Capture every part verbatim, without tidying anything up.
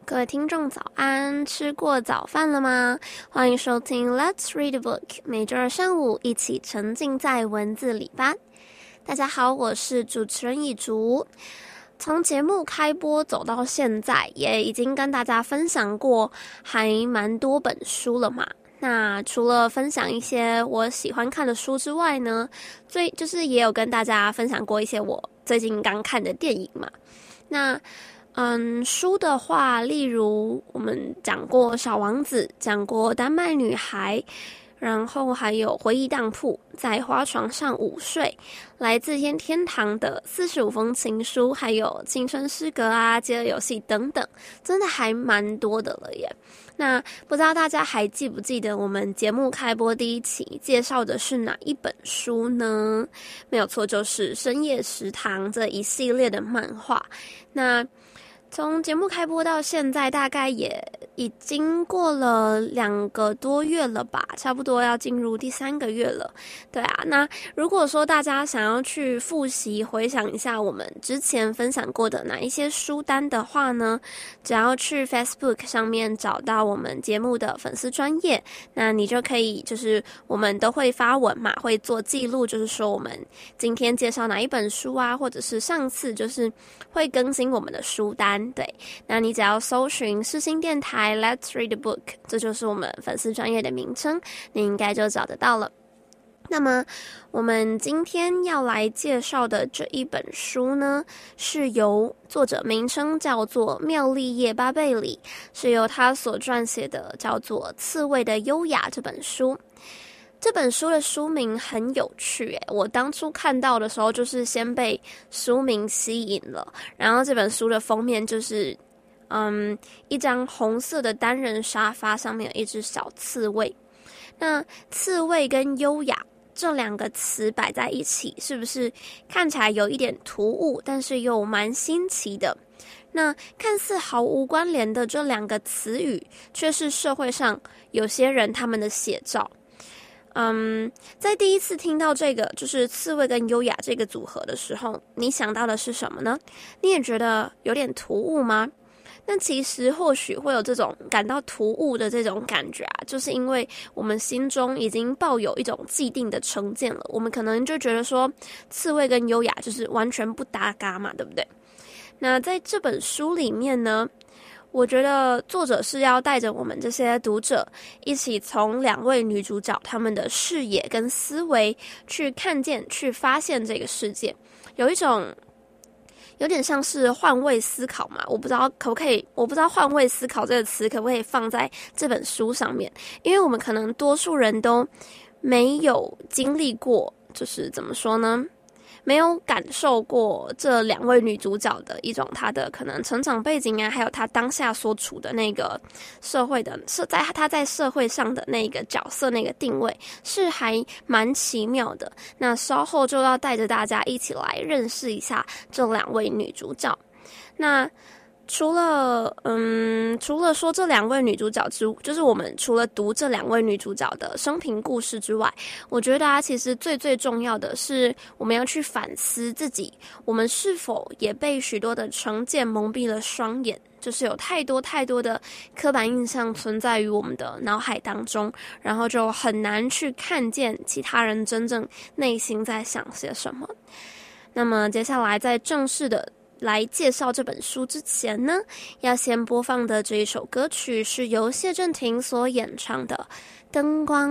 各位听众早安，吃过早饭了吗？欢迎收听 Let's Read a Book， 每周二上午一起沉浸在文字里吧。大家好，我是主持人以竹。从节目开播走到现在，也已经跟大家分享过还蛮多本书了嘛。那除了分享一些我喜欢看的书之外呢，最就是也有跟大家分享过一些我最近刚看的电影嘛。那嗯，书的话，例如我们讲过《小王子》，讲过《丹麦女孩》，然后还有《回忆当铺》，在花床上午睡，来自天天堂的四十五封情书，还有青春诗歌啊、饥饿游戏等等，真的还蛮多的了耶。那不知道大家还记不记得我们节目开播第一期介绍的是哪一本书呢？没有错，就是《深夜食堂》这一系列的漫画。那从节目开播到现在，大概也已经过了两个多月了吧，差不多要进入第三个月了。对啊，那如果说大家想要去复习回想一下我们之前分享过的哪一些书单的话呢，只要去 Facebook 上面找到我们节目的粉丝专页，那你就可以就是我们都会发文嘛，会做记录，就是说我们今天介绍哪一本书啊，或者是上次就是会更新我们的书单。对，那你只要搜寻世新电台 Let's Read a Book， 这就是我们粉丝专页的名称，你应该就找得到了。那么我们今天要来介绍的这一本书呢，是由作者名称叫做妙丽叶巴贝里，是由他所撰写的叫做《刺猬的优雅》这本书。这本书的书名很有趣耶，我当初看到的时候就是先被书名吸引了，然后这本书的封面就是嗯一张红色的单人沙发，上面有一只小刺猬。那刺猬跟优雅这两个词摆在一起，是不是看起来有一点突兀，但是又蛮新奇的？那看似毫无关联的这两个词语，却是社会上有些人他们的写照。嗯，在第一次听到这个就是刺猬跟优雅这个组合的时候，你想到的是什么呢？你也觉得有点突兀吗？那其实或许会有这种感到突兀的这种感觉啊，就是因为我们心中已经抱有一种既定的成见了，我们可能就觉得说刺猬跟优雅就是完全不搭嘎嘛，对不对？那在这本书里面呢，我觉得作者是要带着我们这些读者一起从两位女主角她们的视野跟思维去看见、去发现这个世界，有一种有点像是换位思考嘛，我不知道可不可以，我不知道换位思考这个词可不可以放在这本书上面，因为我们可能多数人都没有经历过，就是怎么说呢？没有感受过这两位女主角的一种她的可能成长背景啊，还有她当下所处的那个社会的，是在她在社会上的那个角色那个定位是还蛮奇妙的。那稍后就要带着大家一起来认识一下这两位女主角。那除了嗯，除了说这两位女主角之，就是我们除了读这两位女主角的生平故事之外，我觉得啊，其实最最重要的是我们要去反思自己，我们是否也被许多的成见蒙蔽了双眼，就是有太多太多的刻板印象存在于我们的脑海当中，然后就很难去看见其他人真正内心在想些什么。那么接下来在正式的来介绍这本书之前呢，要先播放的这一首歌曲是由谢震廷所演唱的《灯光》。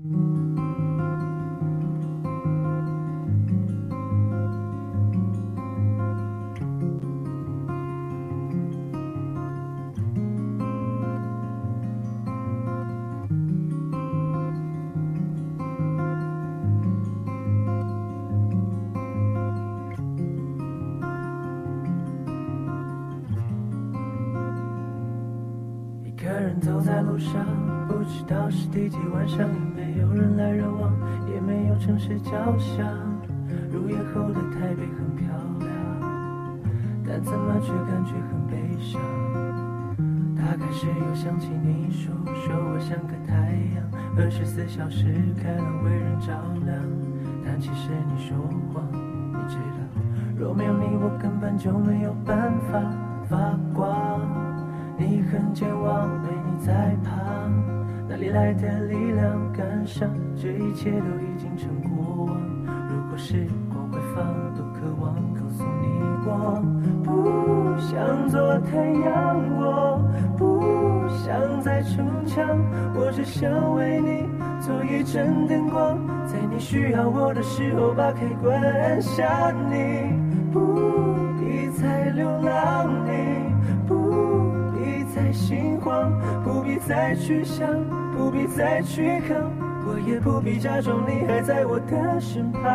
走在路上，不知道是第几晚上，也没有人来人往，也没有城市交响。入夜后的台北很漂亮，但怎么却感觉很悲伤。大概是又想起你说，说我像个太阳，二十四小时开朗为人照亮。但其实你说谎，你知道，若没有你，我根本就没有办法发光。你很健忘，没你在旁，哪里来的力量赶上？这一切都已经成过往。如果时光回放，多渴望告诉你我不想做太阳，我不想再逞强，我只想为你做一盏灯光，在你需要我的时候把开关按下。你不必再流浪，你不必再心慌，不必再去想，不必再去扛，我也不必假装你还在我的身旁。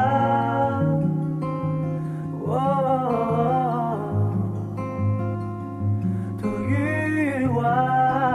哦，多欲望。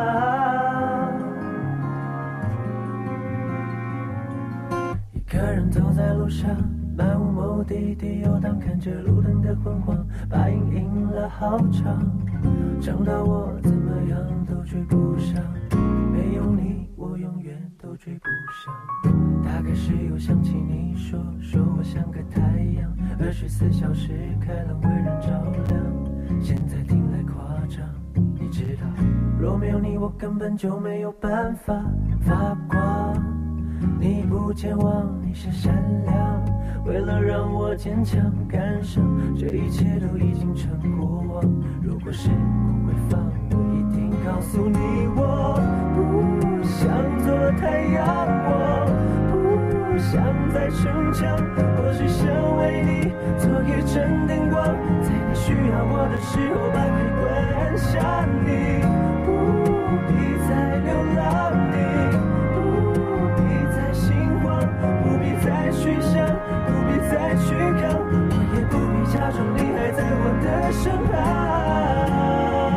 一个人走在路上，漫无目的地游荡，看着路灯的昏黄，把影印了好长，长到我怎么样都追不上，没有你我永远都追不上。大概是又想起你说说我像个太阳，二十四小时开朗为人照亮，现在听来夸张，你知道若没有你我根本就没有办法发光。你不健忘，你是善良，为了让我坚强赶上，这一切都已经成过往。如果时光回放，我一定告诉你我不想做太阳，我不想再逞强，我只想为你做一盏灯光，在你需要我的时候把开关按下。你不必再流浪，你不必再去想，不必再去扛，我也不必假装你还在我的身旁。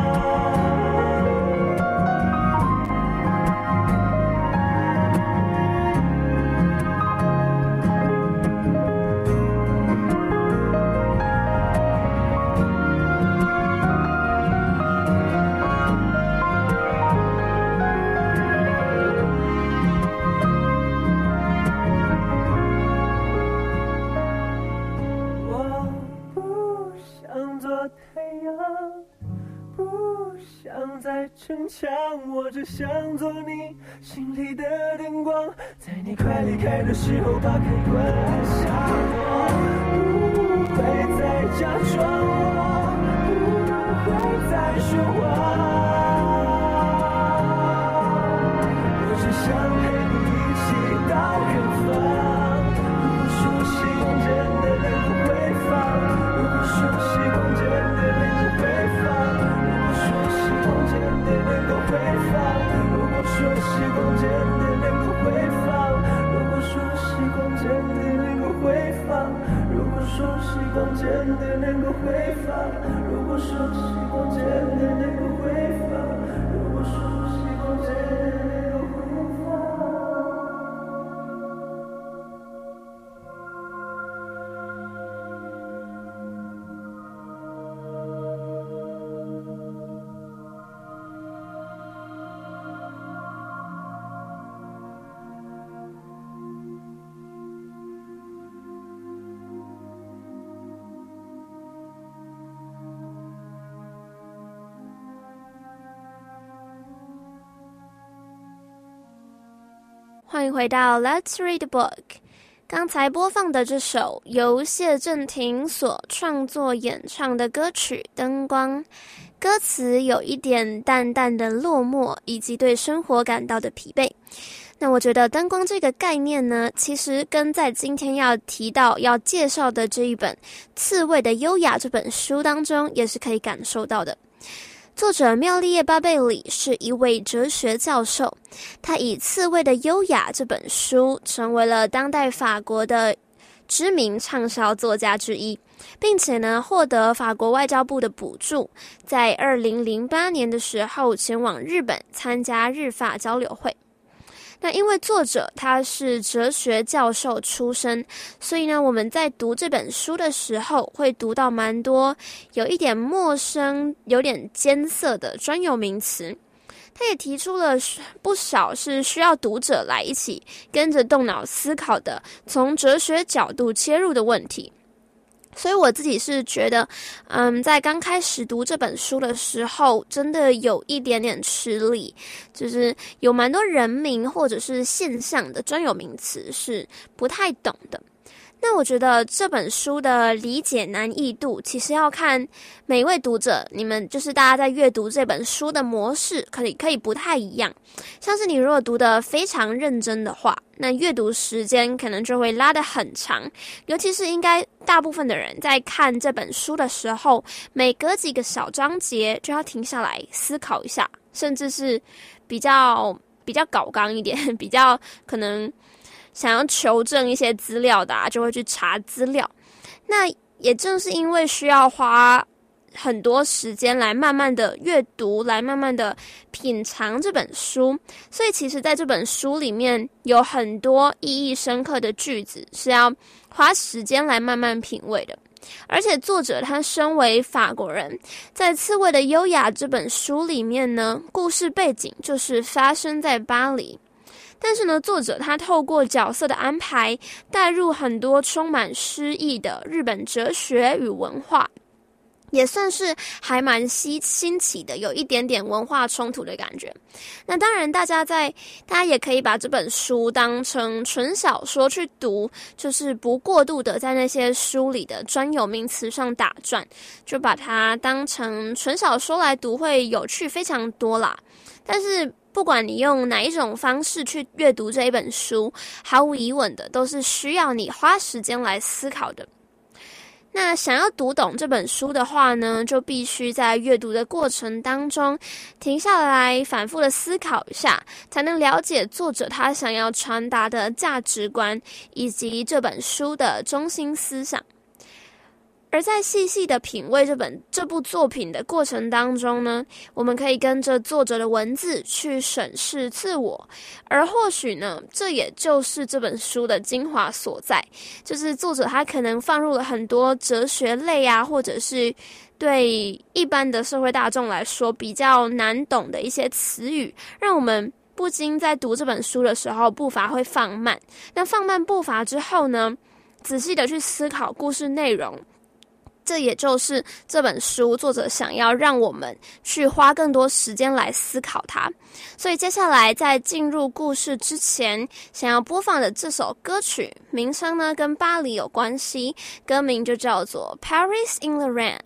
在逞强，我只想做你心里的灯光，在你快离开的时候把开关按下。我不会再假装，我不会再说谎，我只想陪你一起到远方。如果说时光真的能够回放，如果说时光真的能够回放，真的能够回放，如果说时光真的能够回放，如果说时光真的能够回放，如果说时光真的能够回放，如果说时光真的能够回放，如果说时光真的能够回放。 欢迎回到 Let's Read a Book。 刚才播放的这首由谢震廷所创作演唱的歌曲《灯光》，歌词有一点淡淡的落寞，以及对生活感到的疲惫。那我觉得灯光这个概念呢，其实跟在今天要提到要介绍的这一本《刺猬的优雅》这本书当中也是可以感受到的。作者妙丽叶巴贝里是一位哲学教授，他以《刺猬的优雅》这本书成为了当代法国的知名畅销作家之一，并且呢获得法国外交部的补助，在二零零八年的时候前往日本参加日法交流会。那因为作者他是哲学教授出身，所以呢我们在读这本书的时候会读到蛮多有一点陌生有点艰涩的专有名词。他也提出了不少是需要读者来一起跟着动脑思考的从哲学角度切入的问题。 所以我自己是觉得，嗯，在刚开始读这本书的时候，真的有一点点吃力，就是有蛮多人名或者是现象的专有名词是不太懂的。那我觉得这本书的理解难易度，其实要看每一位读者，你们就是大家在阅读这本书的模式，可以可以不太一样。像是你如果读得非常认真的话，那阅读时间可能就会拉得很长，尤其是应该大部分的人在看这本书的时候，每隔几个小章节就要停下来思考一下，甚至是比较比较搞纲一点，比较可能想要求证一些资料的啊，就会去查资料。那也正是因为需要花很多时间来慢慢的阅读，来慢慢的品尝这本书，所以其实在这本书里面有很多意义深刻的句子是要花时间来慢慢品味的。而且作者他身为法国人，在《刺猬的优雅》这本书里面呢，故事背景就是发生在巴黎。但是呢，作者他透过角色的安排，带入很多充满诗意的日本哲学与文化，也算是还蛮新新奇的，有一点点文化冲突的感觉。那当然，大家在大家也可以把这本书当成纯小说去读，就是不过度的在那些书里的专有名词上打转，就把它当成纯小说来读，会有趣非常多啦。但是不管你用哪一种方式去阅读这一本书，毫无疑问的都是需要你花时间来思考的。那想要读懂这本书的话呢，就必须在阅读的过程当中停下来反复的思考一下，才能了解作者他想要传达的价值观以及这本书的中心思想。而在细细的品味这本这部作品的过程当中呢，我们可以跟着作者的文字去审视自我，而或许呢，这也就是这本书的精华所在，就是作者他可能放入了很多哲学类啊，或者是对一般的社会大众来说比较难懂的一些词语，让我们不禁在读这本书的时候步伐会放慢。那放慢步伐之后呢，仔细的去思考故事内容，这也就是这本书作者想要让我们去花更多时间来思考它。所以接下来在进入故事之前，想要播放的这首歌曲名称呢跟巴黎有关系，歌名就叫做 Paris in the Rain。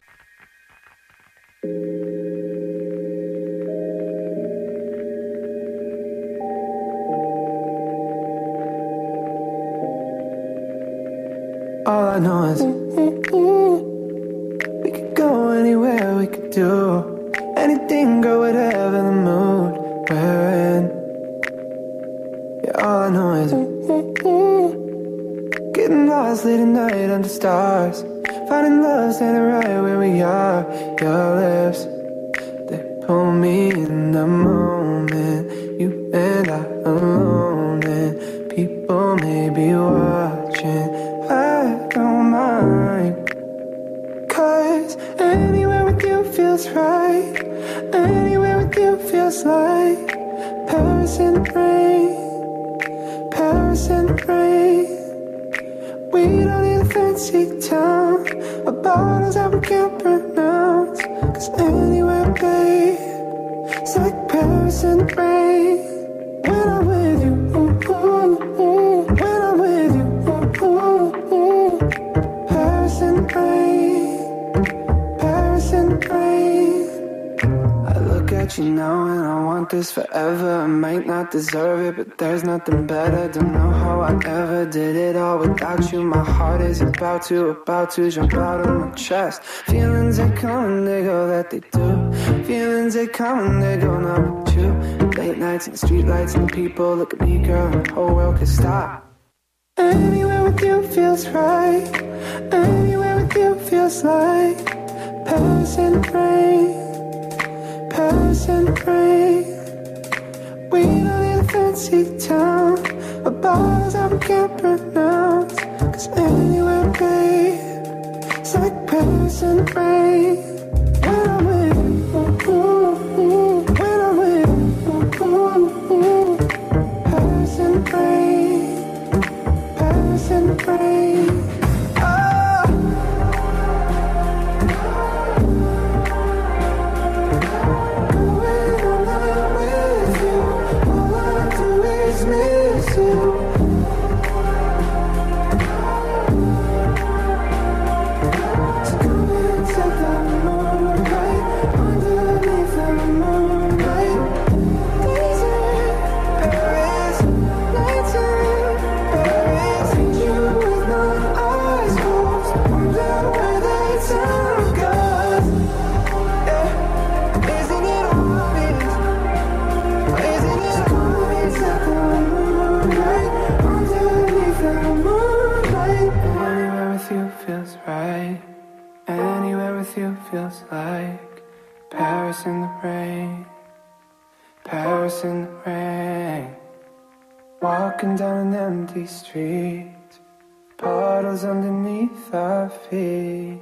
All I know is we could go anywhere, we could do anything, girl, whatever the mood we're in. Yeah, all I know is getting lost late at night under stars, finding love standing right where we are. Your lips, they pull me in the moment, you and I alone, and people may be watching. I don't mind, 'cause anywhere with you feels right, anywhere with you feels like Paris in the rain, Paris in the rain. We don't need a fancy town or bottles that we can't pronounce, 'cause anywhere, babe, it's like Paris in the rain. When I'm with you, ooh, ooh, ooh. When I'm with you, ooh, ooh, ooh. Paris in the rain, Paris in the rain. I look at you now and I want this forever. I might not deserve it, but there's nothing better. Don't know how I ever did it all without you. My heart is about to, about to jump out of my chest. Feelings they come and they go, that they do. Feelings they come and they go, not with you. Late nights and the street lights and the people look at me, girl, and the whole world could stop. Anywhere with you feels right, anywhere with you feels like Paris in the rain, Paris in the rain. We don't need a fancy town or bottles that we can't pronounce, 'cause anywhere, babe, it's like Paris in the rain. When I'm with you, ooh, ooh, ooh. When I'm with you, ooh, ooh, ooh. Paris in the rain, Paris in the rain. Oh, was like Paris in the rain, Paris in the rain. Walking down an empty street, puddles underneath our feet.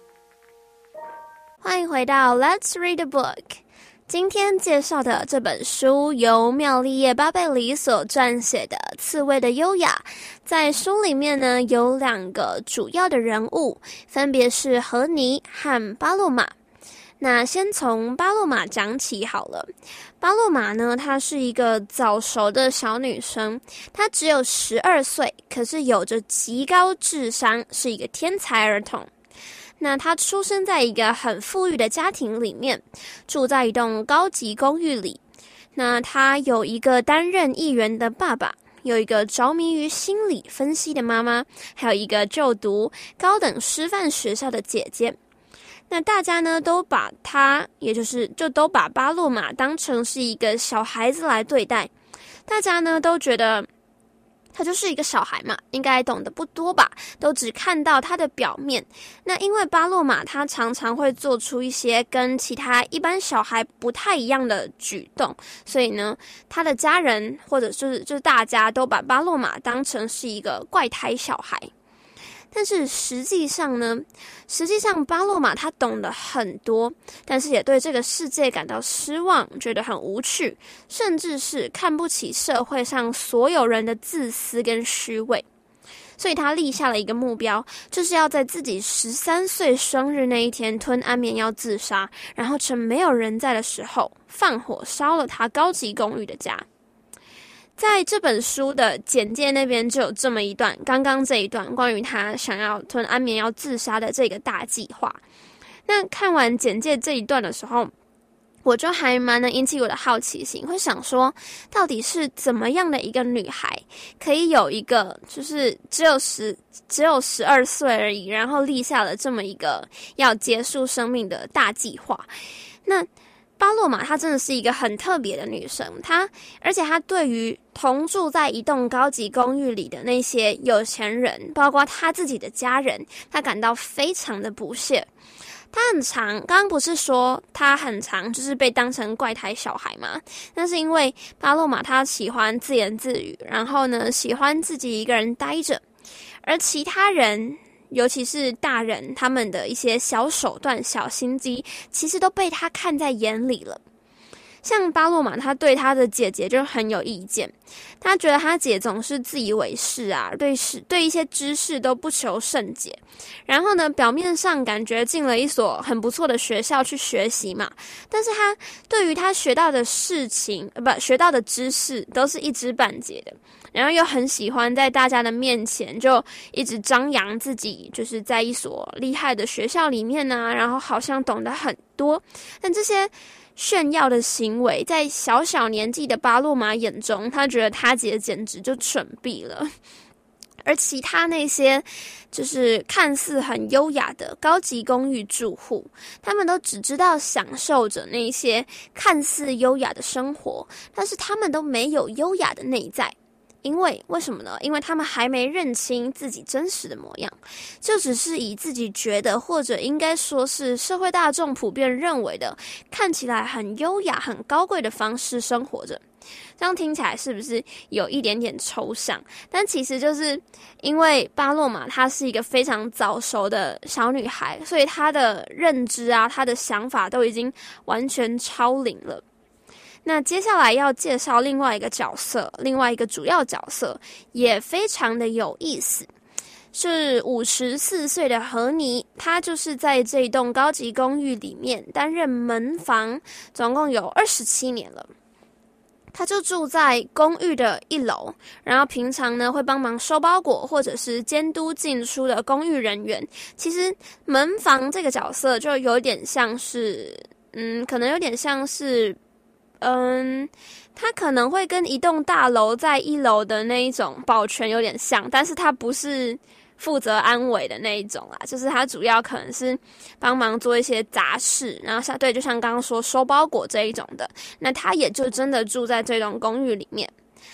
欢迎回到 Let's Read a Book。 今天介绍的这本书由妙丽叶巴贝里所撰写的《刺猬的优雅》。在书里面呢，有两个主要的人物，分别是荷妮和巴洛玛。那先从巴洛玛讲起好了。巴洛玛呢，她是一个早熟的小女生，她只有十二岁，可是有着极高智商，是一个天才儿童。那她出生在一个很富裕的家庭里面，住在一栋高级公寓里。那她有一个担任议员的爸爸，有一个着迷于心理分析的妈妈，还有一个就读高等师范学校的姐姐。那大家呢都把她，也就是就都把巴洛玛当成是一个小孩子来对待。大家呢都觉得他就是一个小孩嘛，应该懂得不多吧，都只看到他的表面。那因为巴洛玛他常常会做出一些跟其他一般小孩不太一样的举动，所以呢，他的家人或者就是就是大家都把巴洛玛当成是一个怪胎小孩。但是实际上呢，实际上巴洛玛他懂得很多，但是也对这个世界感到失望，觉得很无趣，甚至是看不起社会上所有人的自私跟虚伪。所以他立下了一个目标，就是要在自己十三岁生日那一天吞安眠药自杀，然后趁没有人在的时候放火烧了他高级公寓的家。在这本书的简介那边就有这么一段，刚刚这一段关于他想要吞安眠药自杀的这个大计划。那看完简介这一段的时候，我就还蛮能引起我的好奇心，会想说到底是怎么样的一个女孩可以有一个就是只有十只有十二岁而已，然后立下了这么一个要结束生命的大计划。那巴洛玛她真的是一个很特别的女生，她而且她对于同住在一栋高级公寓里的那些有钱人，包括她自己的家人，她感到非常的不屑。她很常，刚刚不是说她很常就是被当成怪胎小孩吗？那是因为巴洛玛她喜欢自言自语，然后呢喜欢自己一个人待着，而其他人尤其是大人，他们的一些小手段、小心机，其实都被他看在眼里了。像巴洛玛，他对他的姐姐就很有意见，他觉得他姐总是自以为是啊，对事对一些知识都不求甚解。然后呢，表面上感觉进了一所很不错的学校去学习嘛，但是他对于他学到的事情，呃，不，学到的知识都是一知半解的。然后又很喜欢在大家的面前就一直张扬自己，就是在一所厉害的学校里面啊，然后好像懂得很多。但这些炫耀的行为，在小小年纪的巴洛玛眼中，他觉得他姐简直就蠢毙了。而其他那些就是看似很优雅的高级公寓住户，他们都只知道享受着那些看似优雅的生活，但是他们都没有优雅的内在。因为为什么呢？因为他们还没认清自己真实的模样，就只是以自己觉得，或者应该说是社会大众普遍认为的，看起来很优雅、很高贵的方式生活着。这样听起来是不是有一点点抽象？但其实就是因为巴洛玛她是一个非常早熟的小女孩，所以她的认知啊，她的想法都已经完全超龄了。那接下来要介绍另外一个角色，另外一个主要角色也非常的有意思，是五十四岁的荷妮，她就是在这栋高级公寓里面担任门房，总共有二十七年了。她就住在公寓的一楼，然后平常呢会帮忙收包裹或者是监督进出的公寓人员。其实门房这个角色就有点像是，嗯，可能有点像是嗯，它可能会跟一栋大楼在一楼的那一种保全有点像，但是它不是负责安危的那一种啦，就是它主要可能是帮忙做一些杂事，然后像对，就像刚刚说收包裹这一种的，那他也就真的住在这栋公寓里面。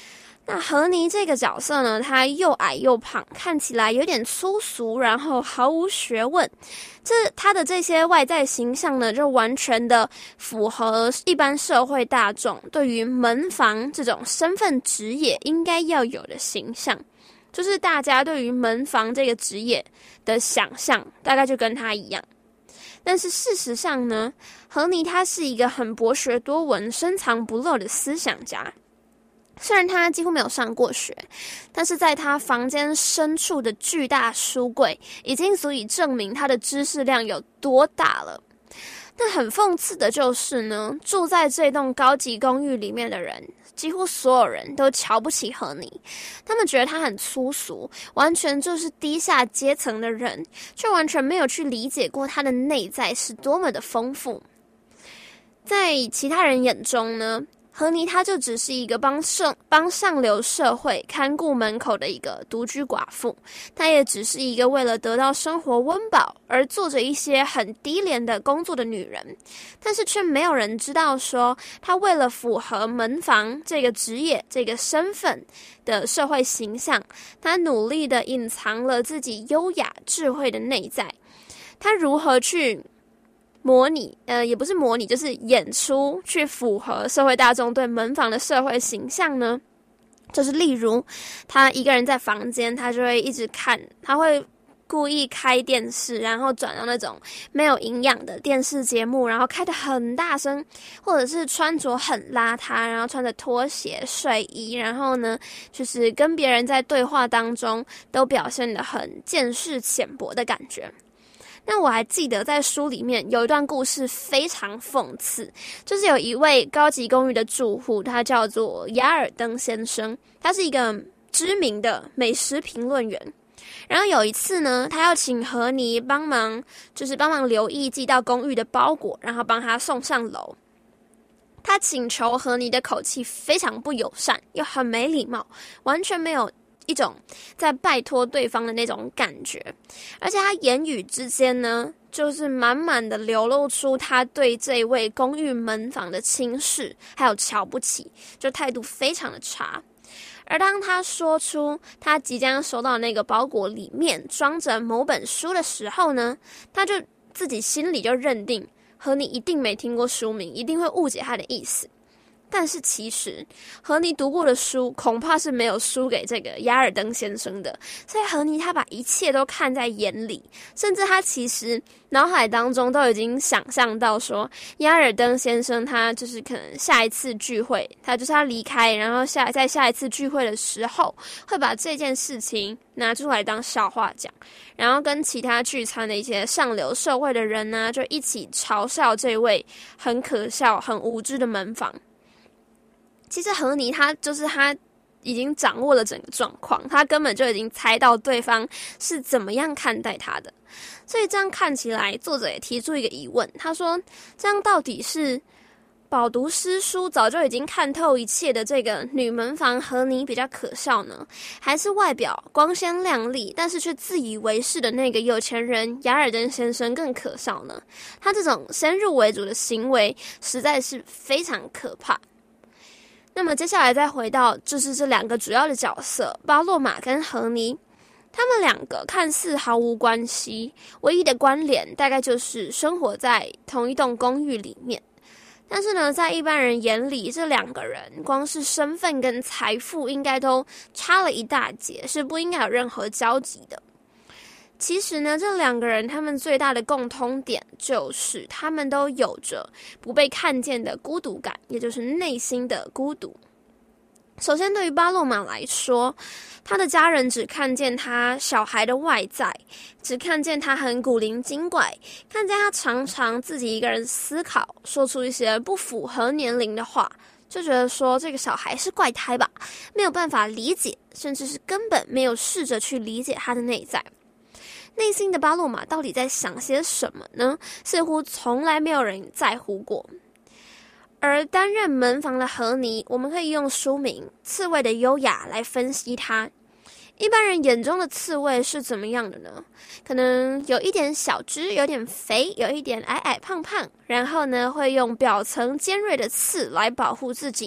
那和尼这个角色呢，他又矮又胖，看起来有点粗俗，然后毫无学问。这他的这些外在形象呢，就完全的符合一般社会大众对于门房这种身份职业应该要有的形象，就是大家对于门房这个职业的想象，大概就跟他一样。但是事实上呢，和尼他是一个很博学多闻、深藏不露的思想家。虽然他几乎没有上过学，但是在他房间深处的巨大书柜已经足以证明他的知识量有多大了。但很讽刺的就是呢，住在这栋高级公寓里面的人，几乎所有人都瞧不起和尼，他们觉得他很粗俗，完全就是低下阶层的人，却完全没有去理解过他的内在是多么的丰富。在其他人眼中呢，和尼他就只是一个帮上帮上流社会看顾门口的一个独居寡妇，他也只是一个为了得到生活温饱而做着一些很低廉的工作的女人，但是却没有人知道说，他为了符合门房这个职业这个身份的社会形象，他努力的隐藏了自己优雅智慧的内在。他如何去模拟呃，也不是模拟，就是演出去符合社会大众对门房的社会形象呢？就是例如他一个人在房间，他就会一直看，他会故意开电视，然后转到那种没有营养的电视节目，然后开得很大声，或者是穿着很邋遢，然后穿着拖鞋睡衣，然后呢就是跟别人在对话当中都表现得很见识浅薄的感觉。那我还记得在书里面有一段故事非常讽刺，就是有一位高级公寓的住户，他叫做雅尔登先生，他是一个知名的美食评论员。然后有一次呢，他要请和尼帮忙，就是帮忙留意寄到公寓的包裹，然后帮他送上楼。他请求和尼的口气非常不友善，又很没礼貌，完全没有一种在拜托对方的那种感觉，而且他言语之间呢，就是满满的流露出他对这位公寓门房的轻视还有瞧不起，就态度非常的差。而当他说出他即将收到那个包裹里面装着某本书的时候呢，他就自己心里就认定和尼一定没听过书名，一定会误解他的意思。但是其实和尼读过的书恐怕是没有输给这个雅尔登先生的，所以和尼他把一切都看在眼里，甚至他其实脑海当中都已经想象到说，雅尔登先生他就是可能下一次聚会，他就是他离开，然后下在下一次聚会的时候会把这件事情拿出来当笑话讲，然后跟其他聚餐的一些上流社会的人呢，就一起嘲笑这位很可笑很无知的门房。其实和尼他就是他已经掌握了整个状况，他根本就已经猜到对方是怎么样看待他的。所以这样看起来，作者也提出一个疑问，他说这样到底是饱读诗书早就已经看透一切的这个女门房和尼比较可笑呢，还是外表光鲜亮丽但是却自以为是的那个有钱人雅尔登先生更可笑呢？他这种先入为主的行为实在是非常可怕。那么接下来再回到就是这两个主要的角色巴洛玛跟和尼，他们两个看似毫无关系，唯一的关联大概就是生活在同一栋公寓里面。但是呢，在一般人眼里，这两个人光是身份跟财富应该都差了一大截，是不应该有任何交集的。其实呢，这两个人他们最大的共通点就是他们都有着不被看见的孤独感，也就是内心的孤独。首先对于巴洛玛来说，他的家人只看见他小孩的外在，只看见他很古灵精怪，看见他常常自己一个人思考，说出一些不符合年龄的话，就觉得说这个小孩是怪胎吧，没有办法理解，甚至是根本没有试着去理解他的内在。内心的巴洛玛到底在想些什么呢？似乎从来没有人在乎过。而担任门房的和尼，我们可以用书名《刺猬的优雅》来分析它。一般人眼中的刺猬是怎么样的呢？可能有一点小只，有点肥，有一点矮矮胖胖，然后呢会用表层尖锐的刺来保护自己，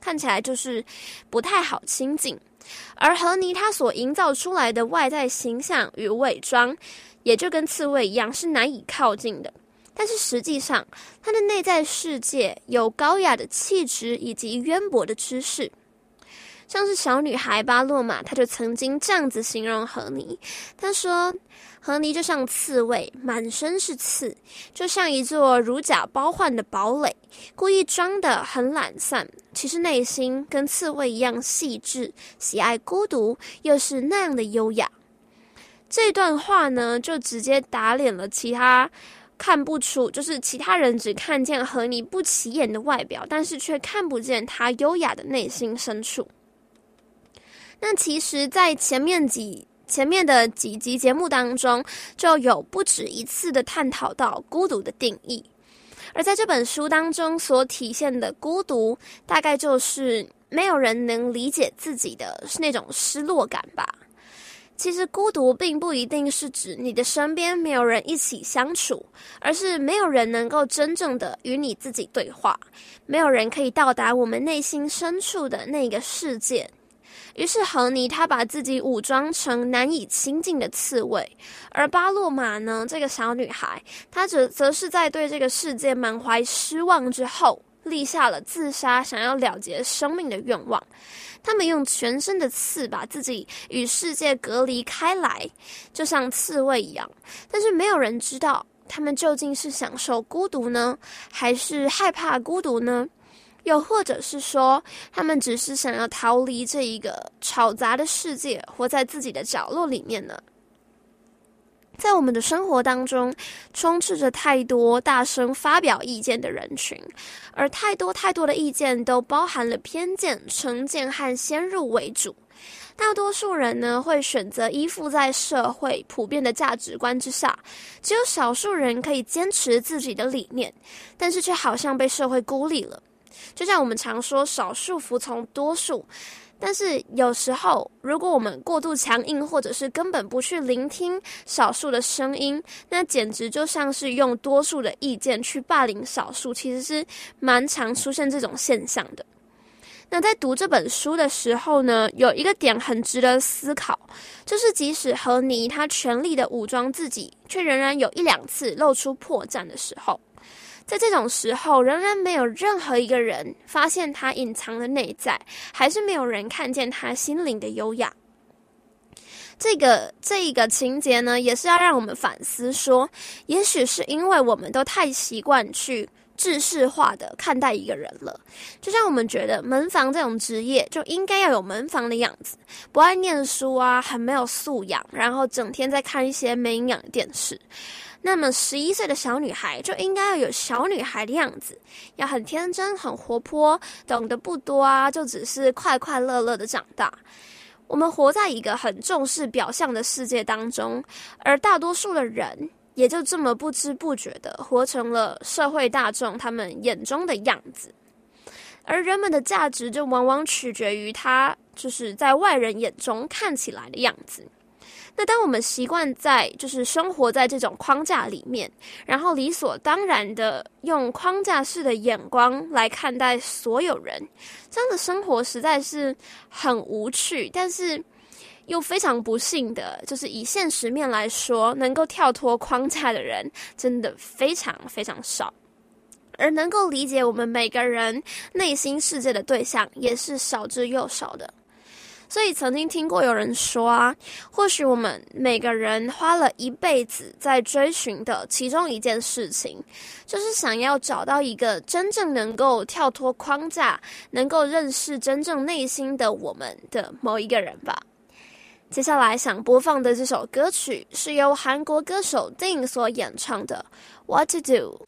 看起来就是不太好亲近。而和妮她所营造出来的外在形象与伪装，也就跟刺猬一样是难以靠近的。但是实际上，她的内在世界有高雅的气质以及渊博的知识。像是小女孩巴洛玛，她就曾经这样子形容和妮，她说和妮就像刺猬，满身是刺，就像一座如假包换的堡垒，故意装得很懒散，其实内心跟刺猬一样细致，喜爱孤独，又是那样的优雅。这段话呢，就直接打脸了其他看不出，就是其他人只看见和妮不起眼的外表，但是却看不见她优雅的内心深处。那其实在前面几前面的几集节目当中，就有不止一次的探讨到孤独的定义。而在这本书当中所体现的孤独，大概就是没有人能理解自己的那种失落感吧。其实孤独并不一定是指你的身边没有人一起相处，而是没有人能够真正的与你自己对话，没有人可以到达我们内心深处的那个世界。于是和妮她把自己武装成难以亲近的刺猬，而巴洛玛呢，这个小女孩，她则则是在对这个世界满怀失望之后，立下了自杀想要了结生命的愿望。他们用全身的刺把自己与世界隔离开来，就像刺猬一样，但是没有人知道他们究竟是享受孤独呢，还是害怕孤独呢？又或者是说，他们只是想要逃离这一个吵杂的世界，活在自己的角落里面呢？在我们的生活当中，充斥着太多大声发表意见的人群，而太多太多的意见都包含了偏见、成见和先入为主。大多数人呢，会选择依附在社会普遍的价值观之下，只有少数人可以坚持自己的理念，但是却好像被社会孤立了。就像我们常说少数服从多数，但是有时候如果我们过度强硬，或者是根本不去聆听少数的声音，那简直就像是用多数的意见去霸凌少数，其实是蛮常出现这种现象的。那在读这本书的时候呢，有一个点很值得思考，就是即使和妮她全力的武装自己，却仍然有一两次露出破绽的时候，在这种时候，仍然没有任何一个人发现他隐藏的内在，还是没有人看见他心灵的优雅。这个这一个情节呢，也是要让我们反思说，也许是因为我们都太习惯去制式化的看待一个人了，就像我们觉得门房这种职业就应该要有门房的样子，不爱念书啊，很没有素养，然后整天在看一些没营养的电视。那么十一岁的小女孩就应该要有小女孩的样子，要很天真很活泼，懂得不多啊，就只是快快乐乐的长大。我们活在一个很重视表象的世界当中，而大多数的人也就这么不知不觉的活成了社会大众他们眼中的样子。而人们的价值就往往取决于他就是在外人眼中看起来的样子。那当我们习惯在就是生活在这种框架里面，然后理所当然的用框架式的眼光来看待所有人，这样的生活实在是很无趣，但是又非常不幸的，就是以现实面来说，能够跳脱框架的人真的非常非常少，而能够理解我们每个人内心世界的对象也是少之又少的。所以曾经听过有人说啊，或许我们每个人花了一辈子在追寻的其中一件事情，就是想要找到一个真正能够跳脱框架，能够认识真正内心的我们的某一个人吧。接下来想播放的这首歌曲是由韩国歌手 Ding 所演唱的 What to Do。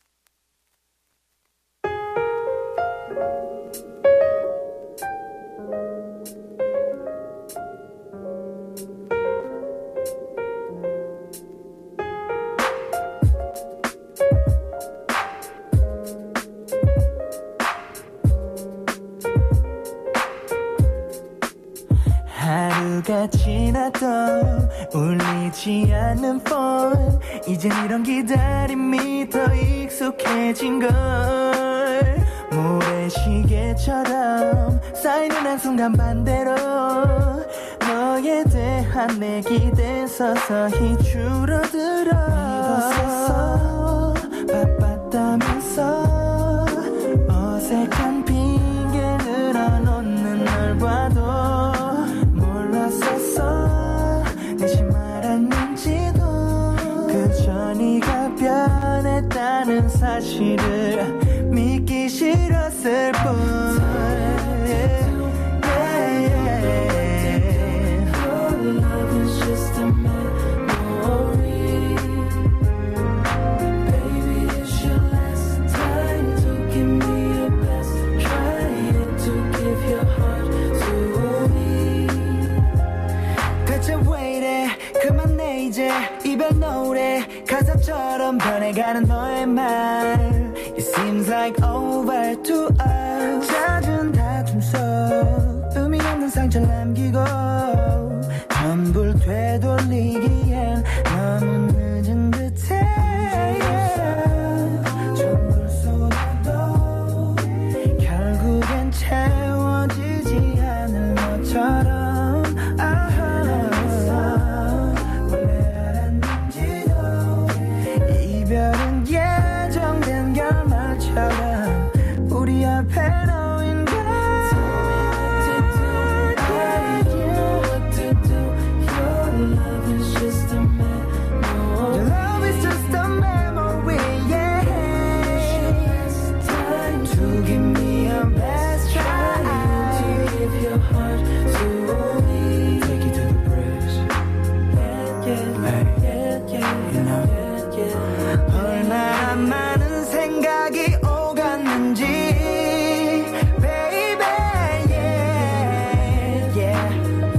하루가 지나도 울리지 않는 폰 이젠 이런 기다림이 더 익숙해진 걸 모래시계처럼 쌓이는 한순간 반대로 너에 대한 내 기대 서서히 줄어들어 믿었었어 바빴다면서 어색한 핑계 늘어놓는 널 봐도 몰랐었어 대신 말았는지도 그저 네가 변했다는 사실을 믿기 싫었을 뿐 이별 노래 가사처럼 변해가는 너의 말 It seems like over to us 잦은 다툼 속 의미 없는 상처를 남기고 전부를 되돌리기엔 너무 늦은 듯해 yeah. 전부를 쏟아도 결국엔 채워지지 않을 너처럼 이별은 예정된 결말처럼 우리 앞에 놓인 걸 What to do, your love is just a memory Your love is just a memory, yeah To give me your best try To give your heart to me Take you to the bridge Yeah, yeah, yeah, yeah, you know 얼마나 많은 생각이 오갔는지 baby yeah, yeah.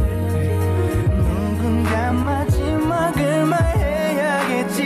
누군가 마지막을 말해야겠지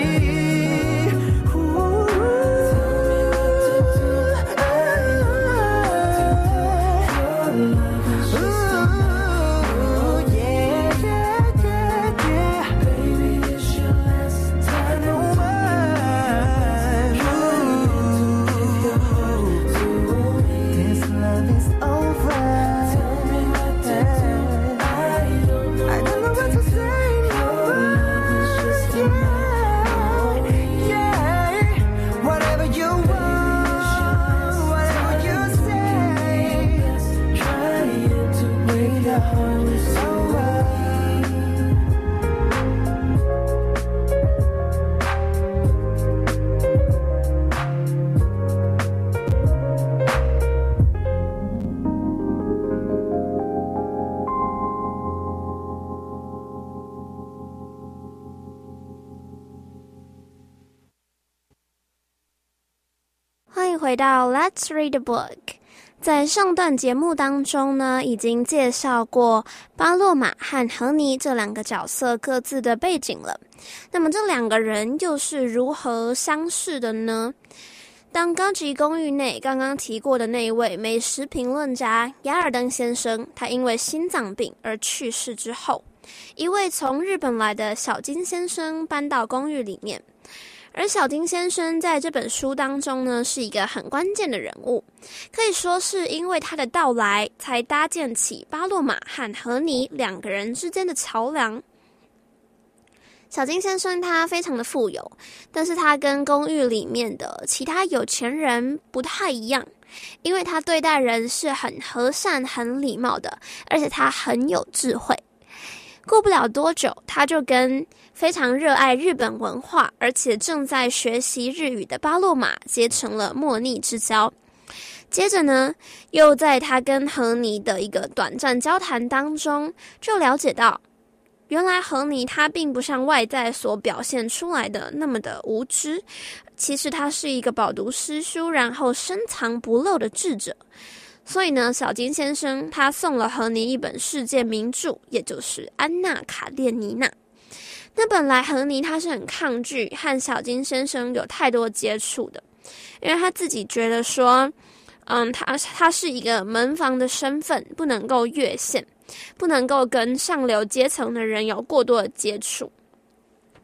欢迎回到 Let's Read a Book。 在上段节目当中呢，已经介绍过巴洛玛和荷尼这两个角色各自的背景了。那么这两个人又是如何相识的呢？当高级公寓内刚刚提过的那一位美食评论家雅尔登先生，他因为心脏病而去世之后，一位从日本来的小金先生搬到公寓里面。而小金先生在这本书当中呢，是一个很关键的人物，可以说是因为他的到来，才搭建起巴洛玛和荷尼两个人之间的桥梁。小金先生他非常的富有，但是他跟公寓里面的其他有钱人不太一样，因为他对待人是很和善、很礼貌的，而且他很有智慧。过不了多久，他就跟非常热爱日本文化，而且正在学习日语的巴洛玛结成了莫逆之交。接着呢，又在他跟荷尼的一个短暂交谈当中，就了解到，原来荷尼他并不像外在所表现出来的那么的无知，其实他是一个饱读诗书，然后深藏不露的智者。所以呢，小金先生他送了荷尼一本世界名著，也就是《安娜·卡列尼娜》。那本来荷尼他是很抗拒和小金先生有太多接触的，因为他自己觉得说，嗯，他他是一个门房的身份，不能够越线，不能够跟上流阶层的人有过多的接触。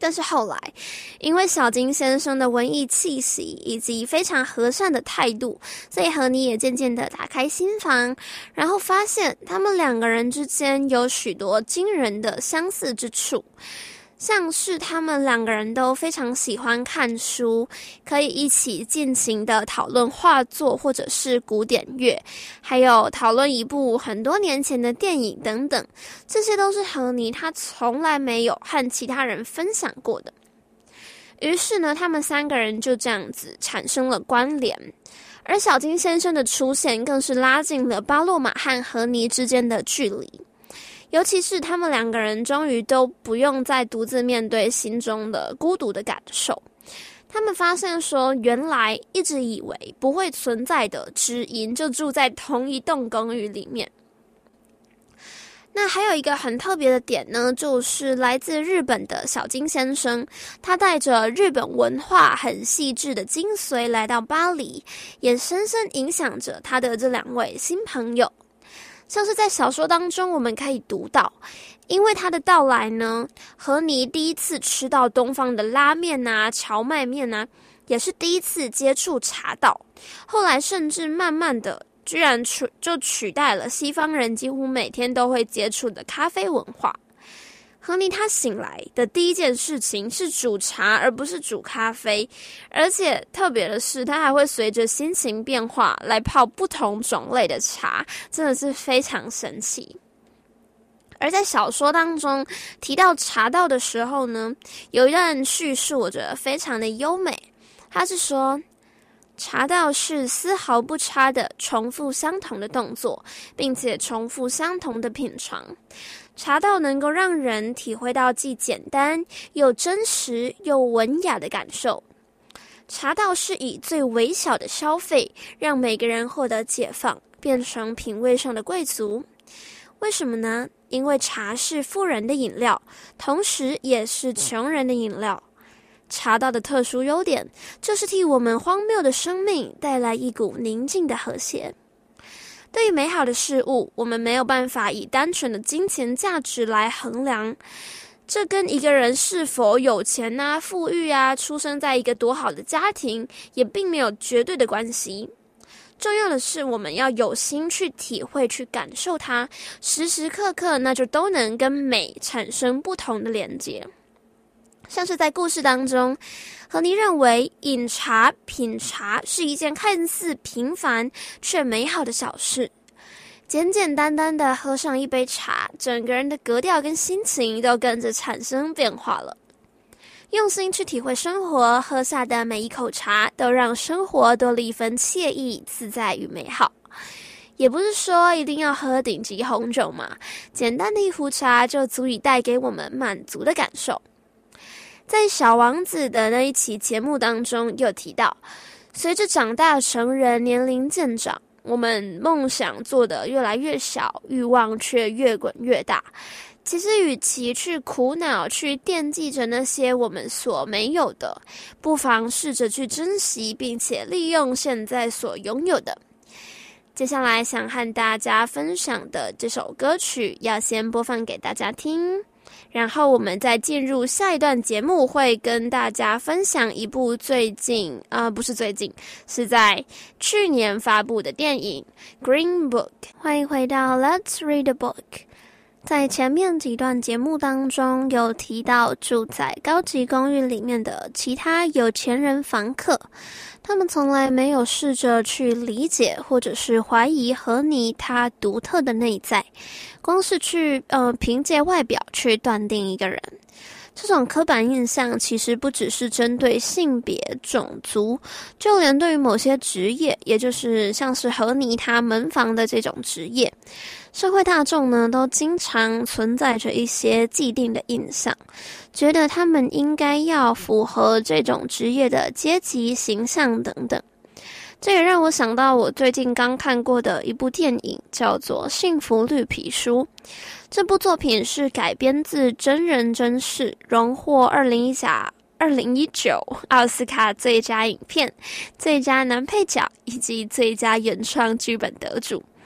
但是后来，因为小金先生的文艺气息以及非常和善的态度，所以和你也渐渐的打开心房，然后发现他们两个人之间有许多惊人的相似之处。像是他们两个人都非常喜欢看书，可以一起尽情的讨论画作或者是古典乐，还有讨论一部很多年前的电影等等，这些都是和你他从来没有和其他人分享过的。于是呢，他们三个人就这样子产生了关联，而小金先生的出现更是拉近了巴洛玛和和尼之间的距离。尤其是他们两个人终于都不用再独自面对心中的孤独的感受，他们发现说，原来一直以为不会存在的知音就住在同一栋公寓里面。那还有一个很特别的点呢，就是来自日本的小金先生，他带着日本文化很细致的精髓来到巴黎，也深深影响着他的这两位新朋友。像是在小说当中我们可以读到，因为他的到来呢，和尼第一次吃到东方的拉面啊、荞麦面啊，也是第一次接触茶道，后来甚至慢慢的居然取就取代了西方人几乎每天都会接触的咖啡文化。和尼他醒来的第一件事情是煮茶，而不是煮咖啡，而且特别的是，他还会随着心情变化来泡不同种类的茶，真的是非常神奇。而在小说当中提到茶道的时候呢，有一段叙述我觉得非常的优美，他是说，茶道是丝毫不差的重复相同的动作，并且重复相同的品尝。茶道能够让人体会到既简单又真实又文雅的感受。茶道是以最微小的消费，让每个人获得解放，变成品味上的贵族。为什么呢？因为茶是富人的饮料，同时也是穷人的饮料。茶道的特殊优点，就是替我们荒谬的生命带来一股宁静的和谐。对于美好的事物，我们没有办法以单纯的金钱价值来衡量，这跟一个人是否有钱啊、富裕啊、出生在一个多好的家庭，也并没有绝对的关系。重要的是，我们要有心去体会、去感受它，时时刻刻那就都能跟美产生不同的连接。像是在故事当中，和尼认为饮茶、品茶是一件看似平凡却美好的小事，简简单单的喝上一杯茶，整个人的格调跟心情都跟着产生变化了。用心去体会生活，喝下的每一口茶都让生活多了一份惬意、自在与美好。也不是说一定要喝顶级红酒嘛，简单的一壶茶就足以带给我们满足的感受。在小王子的那一期节目当中有提到，随着长大成人，年龄渐长，我们梦想做得越来越小，欲望却越滚越大。其实与其去苦恼，去惦记着那些我们所没有的，不妨试着去珍惜，并且利用现在所拥有的。接下来想和大家分享的这首歌曲，要先播放给大家听，然后我们再进入下一段节目，会跟大家分享一部最近呃，不是最近，是在去年发布的电影 Green Book。 欢迎回到 Let's Read a Book。 在前面几段节目当中有提到住在高级公寓里面的其他有钱人房客，他们从来没有试着去理解或者是怀疑和尼他独特的内在，光是去呃凭借外表去断定一个人。这种刻板印象其实不只是针对性别、种族，就连对于某些职业，也就是像是和尼他门房的这种职业，社会大众呢都经常存在着一些既定的印象，觉得他们应该要符合这种职业的阶级形象等等。这也让我想到我最近刚看过的一部电影，叫做《幸福绿皮书》。这部作品是改编自真人真事，荣获二零一九奥斯卡最佳影片、最佳男配角以及最佳原创剧本得主。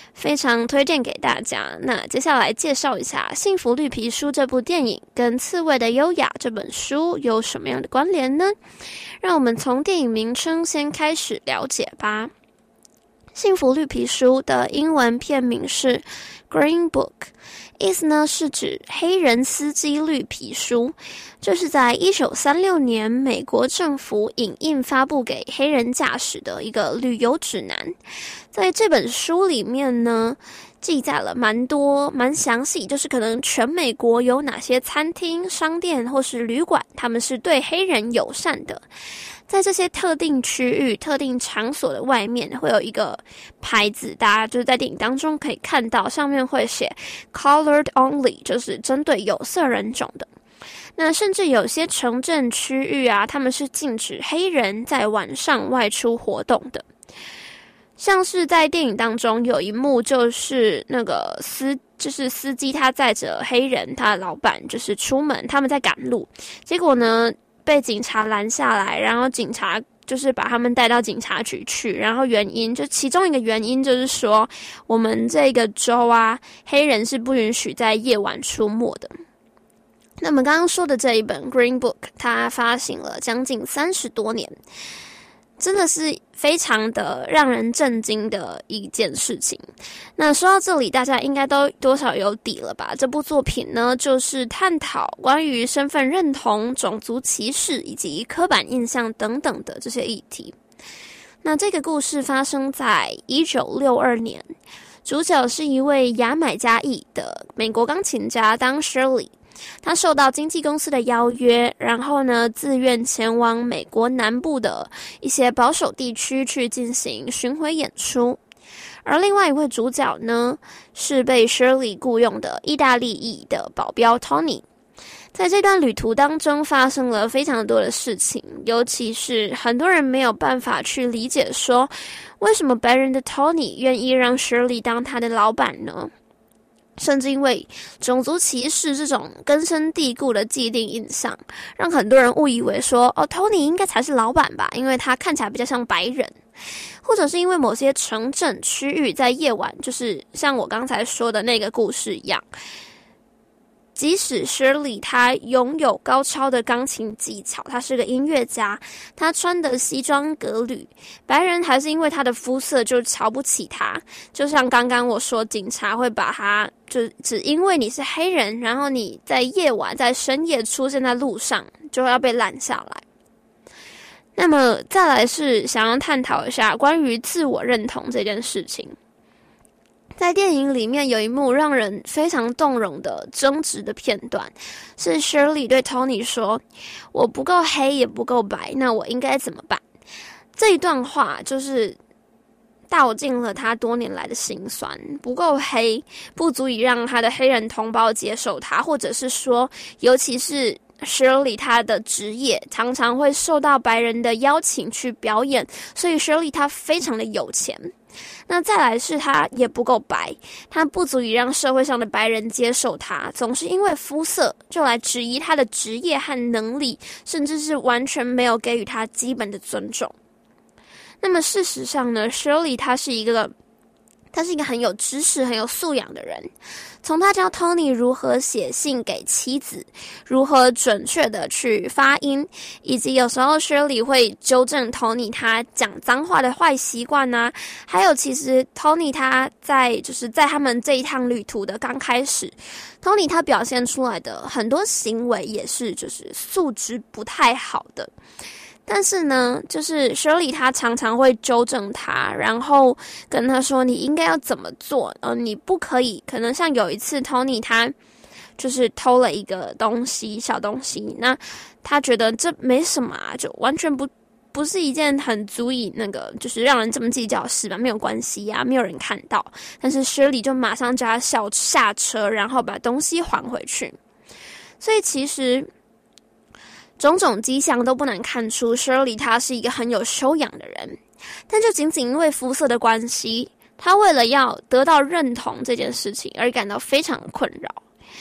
非常推荐给大家。那接下来介绍一下《幸福绿皮书》这部电影跟《刺猬的优雅》这本书有什么样的关联呢？让我们从电影名称先开始了解吧。《幸福绿皮书》的英文片名是 Green Book， 意思呢是指黑人司机绿皮书，这是在一九三六年美国政府影印发布给黑人驾驶的一个旅游指南。在这本书里面呢，记载了蛮多蛮详细，就是可能全美国有哪些餐厅、商店或是旅馆，他们是对黑人友善的。在这些特定区域、特定场所的外面会有一个牌子，大家就是在电影当中可以看到，上面会写 Colored Only， 就是针对有色人种的。那甚至有些城镇区域啊，他们是禁止黑人在晚上外出活动的。像是在电影当中有一幕，就是那个司就是司机他载着黑人，他的老板就是出门，他们在赶路，结果呢被警察拦下来，然后警察就是把他们带到警察局去，然后原因就其中一个原因就是说，我们这个州啊，黑人是不允许在夜晚出没的。那么刚刚说的这一本 Green Book， 它发行了将近三十多年，真的是非常的让人震惊的一件事情。那说到这里，大家应该都多少有底了吧？这部作品呢，就是探讨关于身份认同、种族歧视以及刻板印象等等的这些议题。那这个故事发生在一九六二年，主角是一位牙买加裔的美国钢琴家当 Shirley。他受到经纪公司的邀约，然后呢，自愿前往美国南部的一些保守地区去进行巡回演出。而另外一位主角呢，是被 Shirley 雇佣的意大利裔的保镖 Tony。在这段旅途当中发生了非常多的事情，尤其是很多人没有办法去理解说，为什么白人的 Tony 愿意让 Shirley 当他的老板呢？甚至因为种族歧视这种根深蒂固的既定印象，让很多人误以为说，哦 Tony 应该才是老板吧，因为他看起来比较像白人。或者是因为某些城镇区域在夜晚，就是像我刚才说的那个故事一样，即使 Shirley 他拥有高超的钢琴技巧，他是个音乐家，他穿的西装革履，白人还是因为他的肤色就瞧不起他。就像刚刚我说，警察会把他就只因为你是黑人，然后你在夜晚在深夜出现在路上，就要被拦下来。那么再来是想要探讨一下关于自我认同这件事情。在电影里面有一幕让人非常动容的争执的片段，是 Shirley 对 Tony 说，我不够黑也不够白，那我应该怎么办？这一段话就是道尽了他多年来的辛酸，不够黑不足以让他的黑人同胞接受他，或者是说尤其是Shirley 她的职业常常会受到白人的邀请去表演，所以 Shirley 她非常的有钱。那再来是她也不够白，她不足以让社会上的白人接受她，总是因为肤色就来质疑她的职业和能力，甚至是完全没有给予她基本的尊重。那么事实上呢， Shirley 她是一个他是一个很有知识、很有素养的人。从他教 Tony 如何写信给妻子，如何准确的去发音，以及有时候 Shirley 会纠正 Tony 他讲脏话的坏习惯啊。还有其实 Tony 他在就是在他们这一趟旅途的刚开始， Tony 他表现出来的很多行为也是就是素质不太好的。但是呢，就是 Shirley 她常常会纠正他，然后跟他说你应该要怎么做，呃，你不可以，可能像有一次 Tony 他就是偷了一个东西，小东西，那他觉得这没什么啊，就完全不不是一件很足以那个就是让人这么计较的事吧，没有关系啊，没有人看到。但是 Shirley 就马上叫他下下车，然后把东西还回去。所以其实种种迹象都不难看出 Shirley 她是一个很有修养的人，但就仅仅因为肤色的关系，她为了要得到认同这件事情而感到非常的困扰。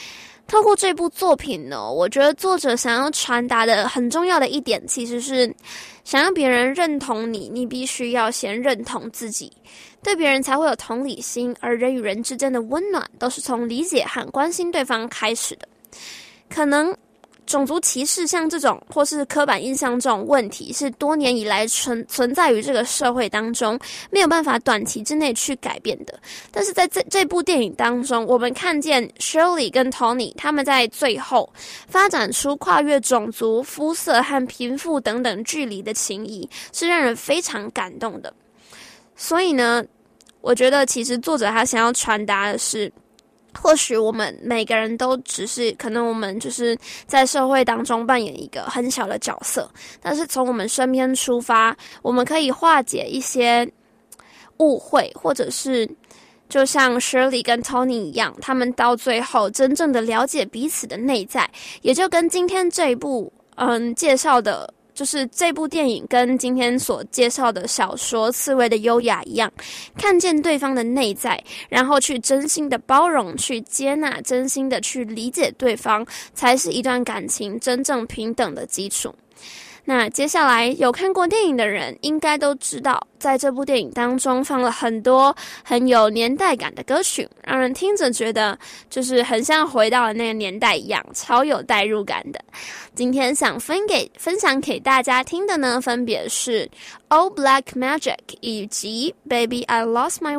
透过这部作品呢，我觉得作者想要传达的很重要的一点，其实是想让别人认同你，你必须要先认同自己，对别人才会有同理心，而人与人之间的温暖都是从理解和关心对方开始的。可能种族歧视像这种或是刻板印象这种问题是多年以来存存在于这个社会当中，没有办法短期之内去改变的。但是在这这部电影当中，我们看见 Shirley 跟 Tony 他们在最后发展出跨越种族、肤色和贫富等等距离的情谊，是让人非常感动的。所以呢，我觉得其实作者他想要传达的是，或许我们每个人都只是可能我们就是在社会当中扮演一个很小的角色，但是从我们身边出发，我们可以化解一些误会，或者是就像 Shirley 跟 Tony 一样，他们到最后真正的了解彼此的内在，也就跟今天这一部嗯介绍的就是这部电影跟今天所介绍的小说《刺猬的优雅》一样，看见对方的内在，然后去真心的包容，去接纳，真心的去理解对方，才是一段感情真正平等的基础。那接下来有看过电影的人应该都知道，在这部电影当中放了很多很有年代感的歌曲，让人听着觉得就是很像回到了那个年代一样，超有代入感的。今天想分给分享给大家听的呢，分别是 All Black Magic 以及 Baby I Lost My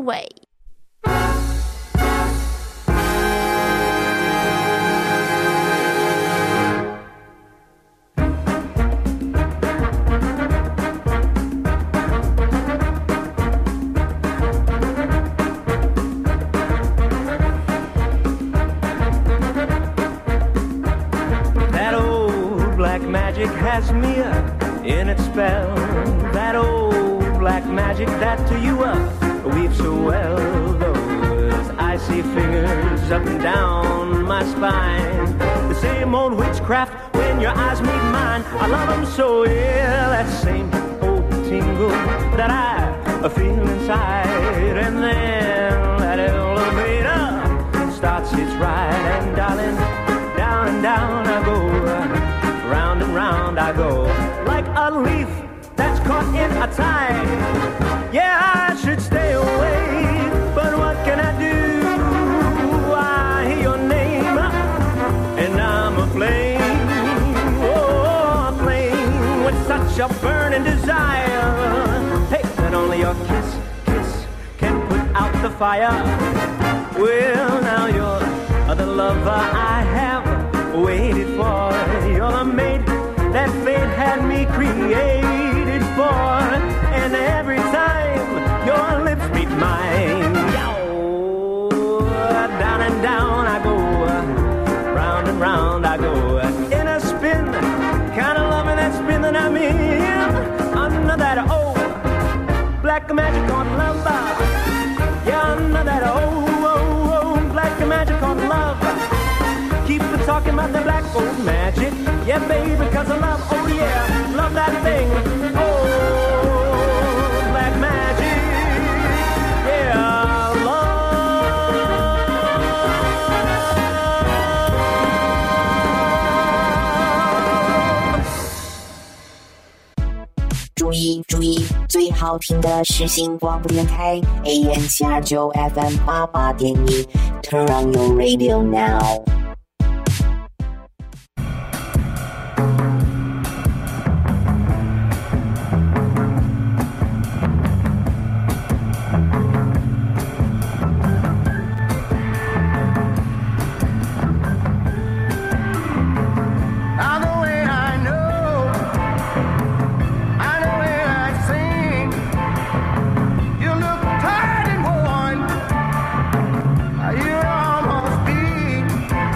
Way。Magic has me up in its spell. That old black magic that to you uh, weaves so well. Those icy fingers up and down my spine. The same old witchcraft when your eyes meet mine. I love them so, yeah. That same old tingle that I feel inside. And then that elevator starts its ride. And darling, down and down I go.Round and round I go, like a leaf that's caught in a tide. Yeah, I should stay away, but what can I do? I hear your name, and I'm aflame. Oh, aflame with such a burning desire. Hey, that only your kiss, kiss can put out the fire. Well, now you're the lover I have.Waited for, you're the mate that fate had me created for, and every time your lips meet mine, yo, down and down I go, round and round I go, in a spin, kind of loving that spin that I'm in, under that old black magic on love, yeah, under that old, old, old black magic on love.Keep talking about the black gold magic. Yeah, baby, because I love, oh yeah, love that thing. Oh, black magic. Yeah, love. 注意注意，最好听的是新广播电台 A M 七二九 F M 八八点一 Turn on your radio now.Now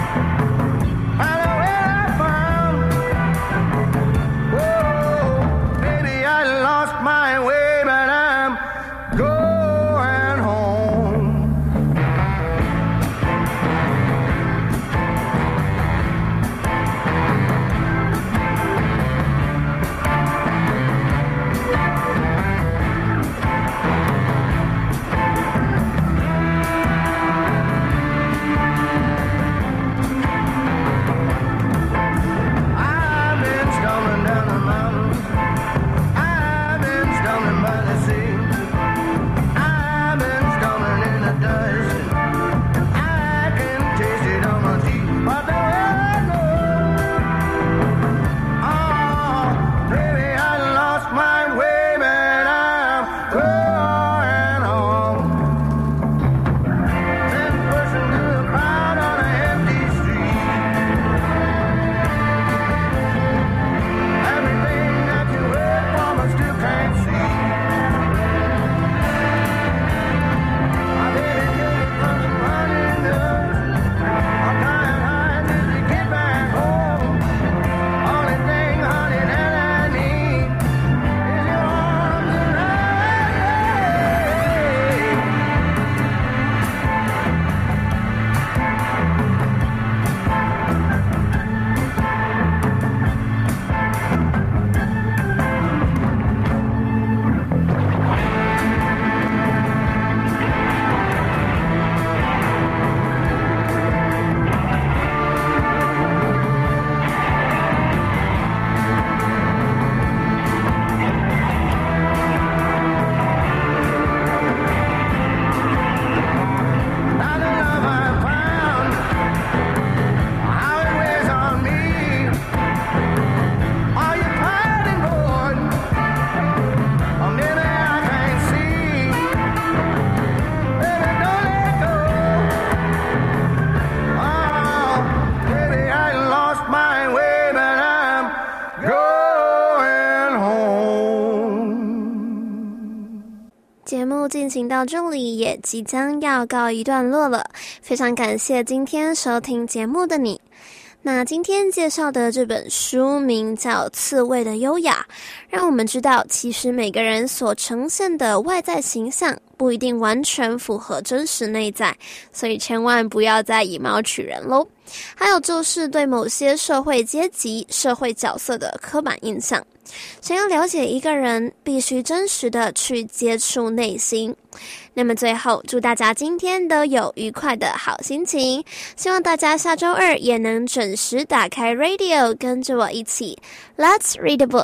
进行到这里也即将要告一段落了，非常感谢今天收听节目的你。那今天介绍的这本书名叫《刺猬的优雅》，让我们知道其实每个人所呈现的外在形象不一定完全符合真实内在，所以千万不要再以貌取人咯。还有就是对某些社会阶级、社会角色的刻板印象。想要了解一个人，必须真实的去接触内心。那么最后，祝大家今天都有愉快的好心情，希望大家下周二也能准时打开 radio， 跟着我一起 Let's read a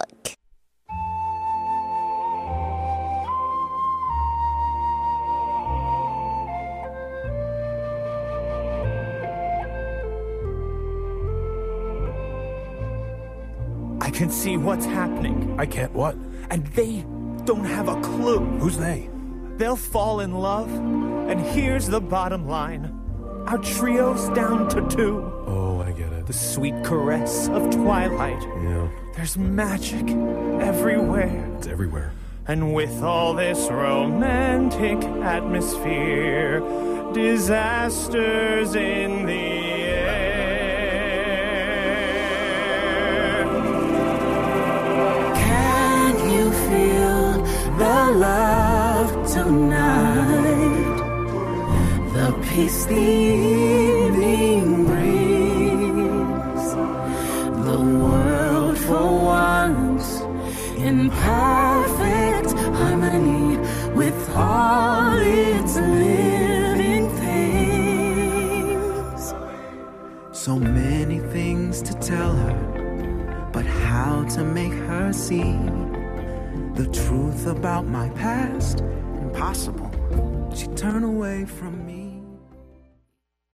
book.I can see what's happening. I can't what? And they don't have a clue. Who's they? They'll fall in love. And here's the bottom line. Our trio's down to two. Oh, I get it. The sweet caress of twilight. Yeah. There's magic everywhere. It's everywhere. And with all this romantic atmosphere, disasters in the the love tonight, the peace the evening brings, the world for once in perfect harmony with all its living things. So many things to tell her, but how to make her see the truth about my past? Impossible. She turned away from me.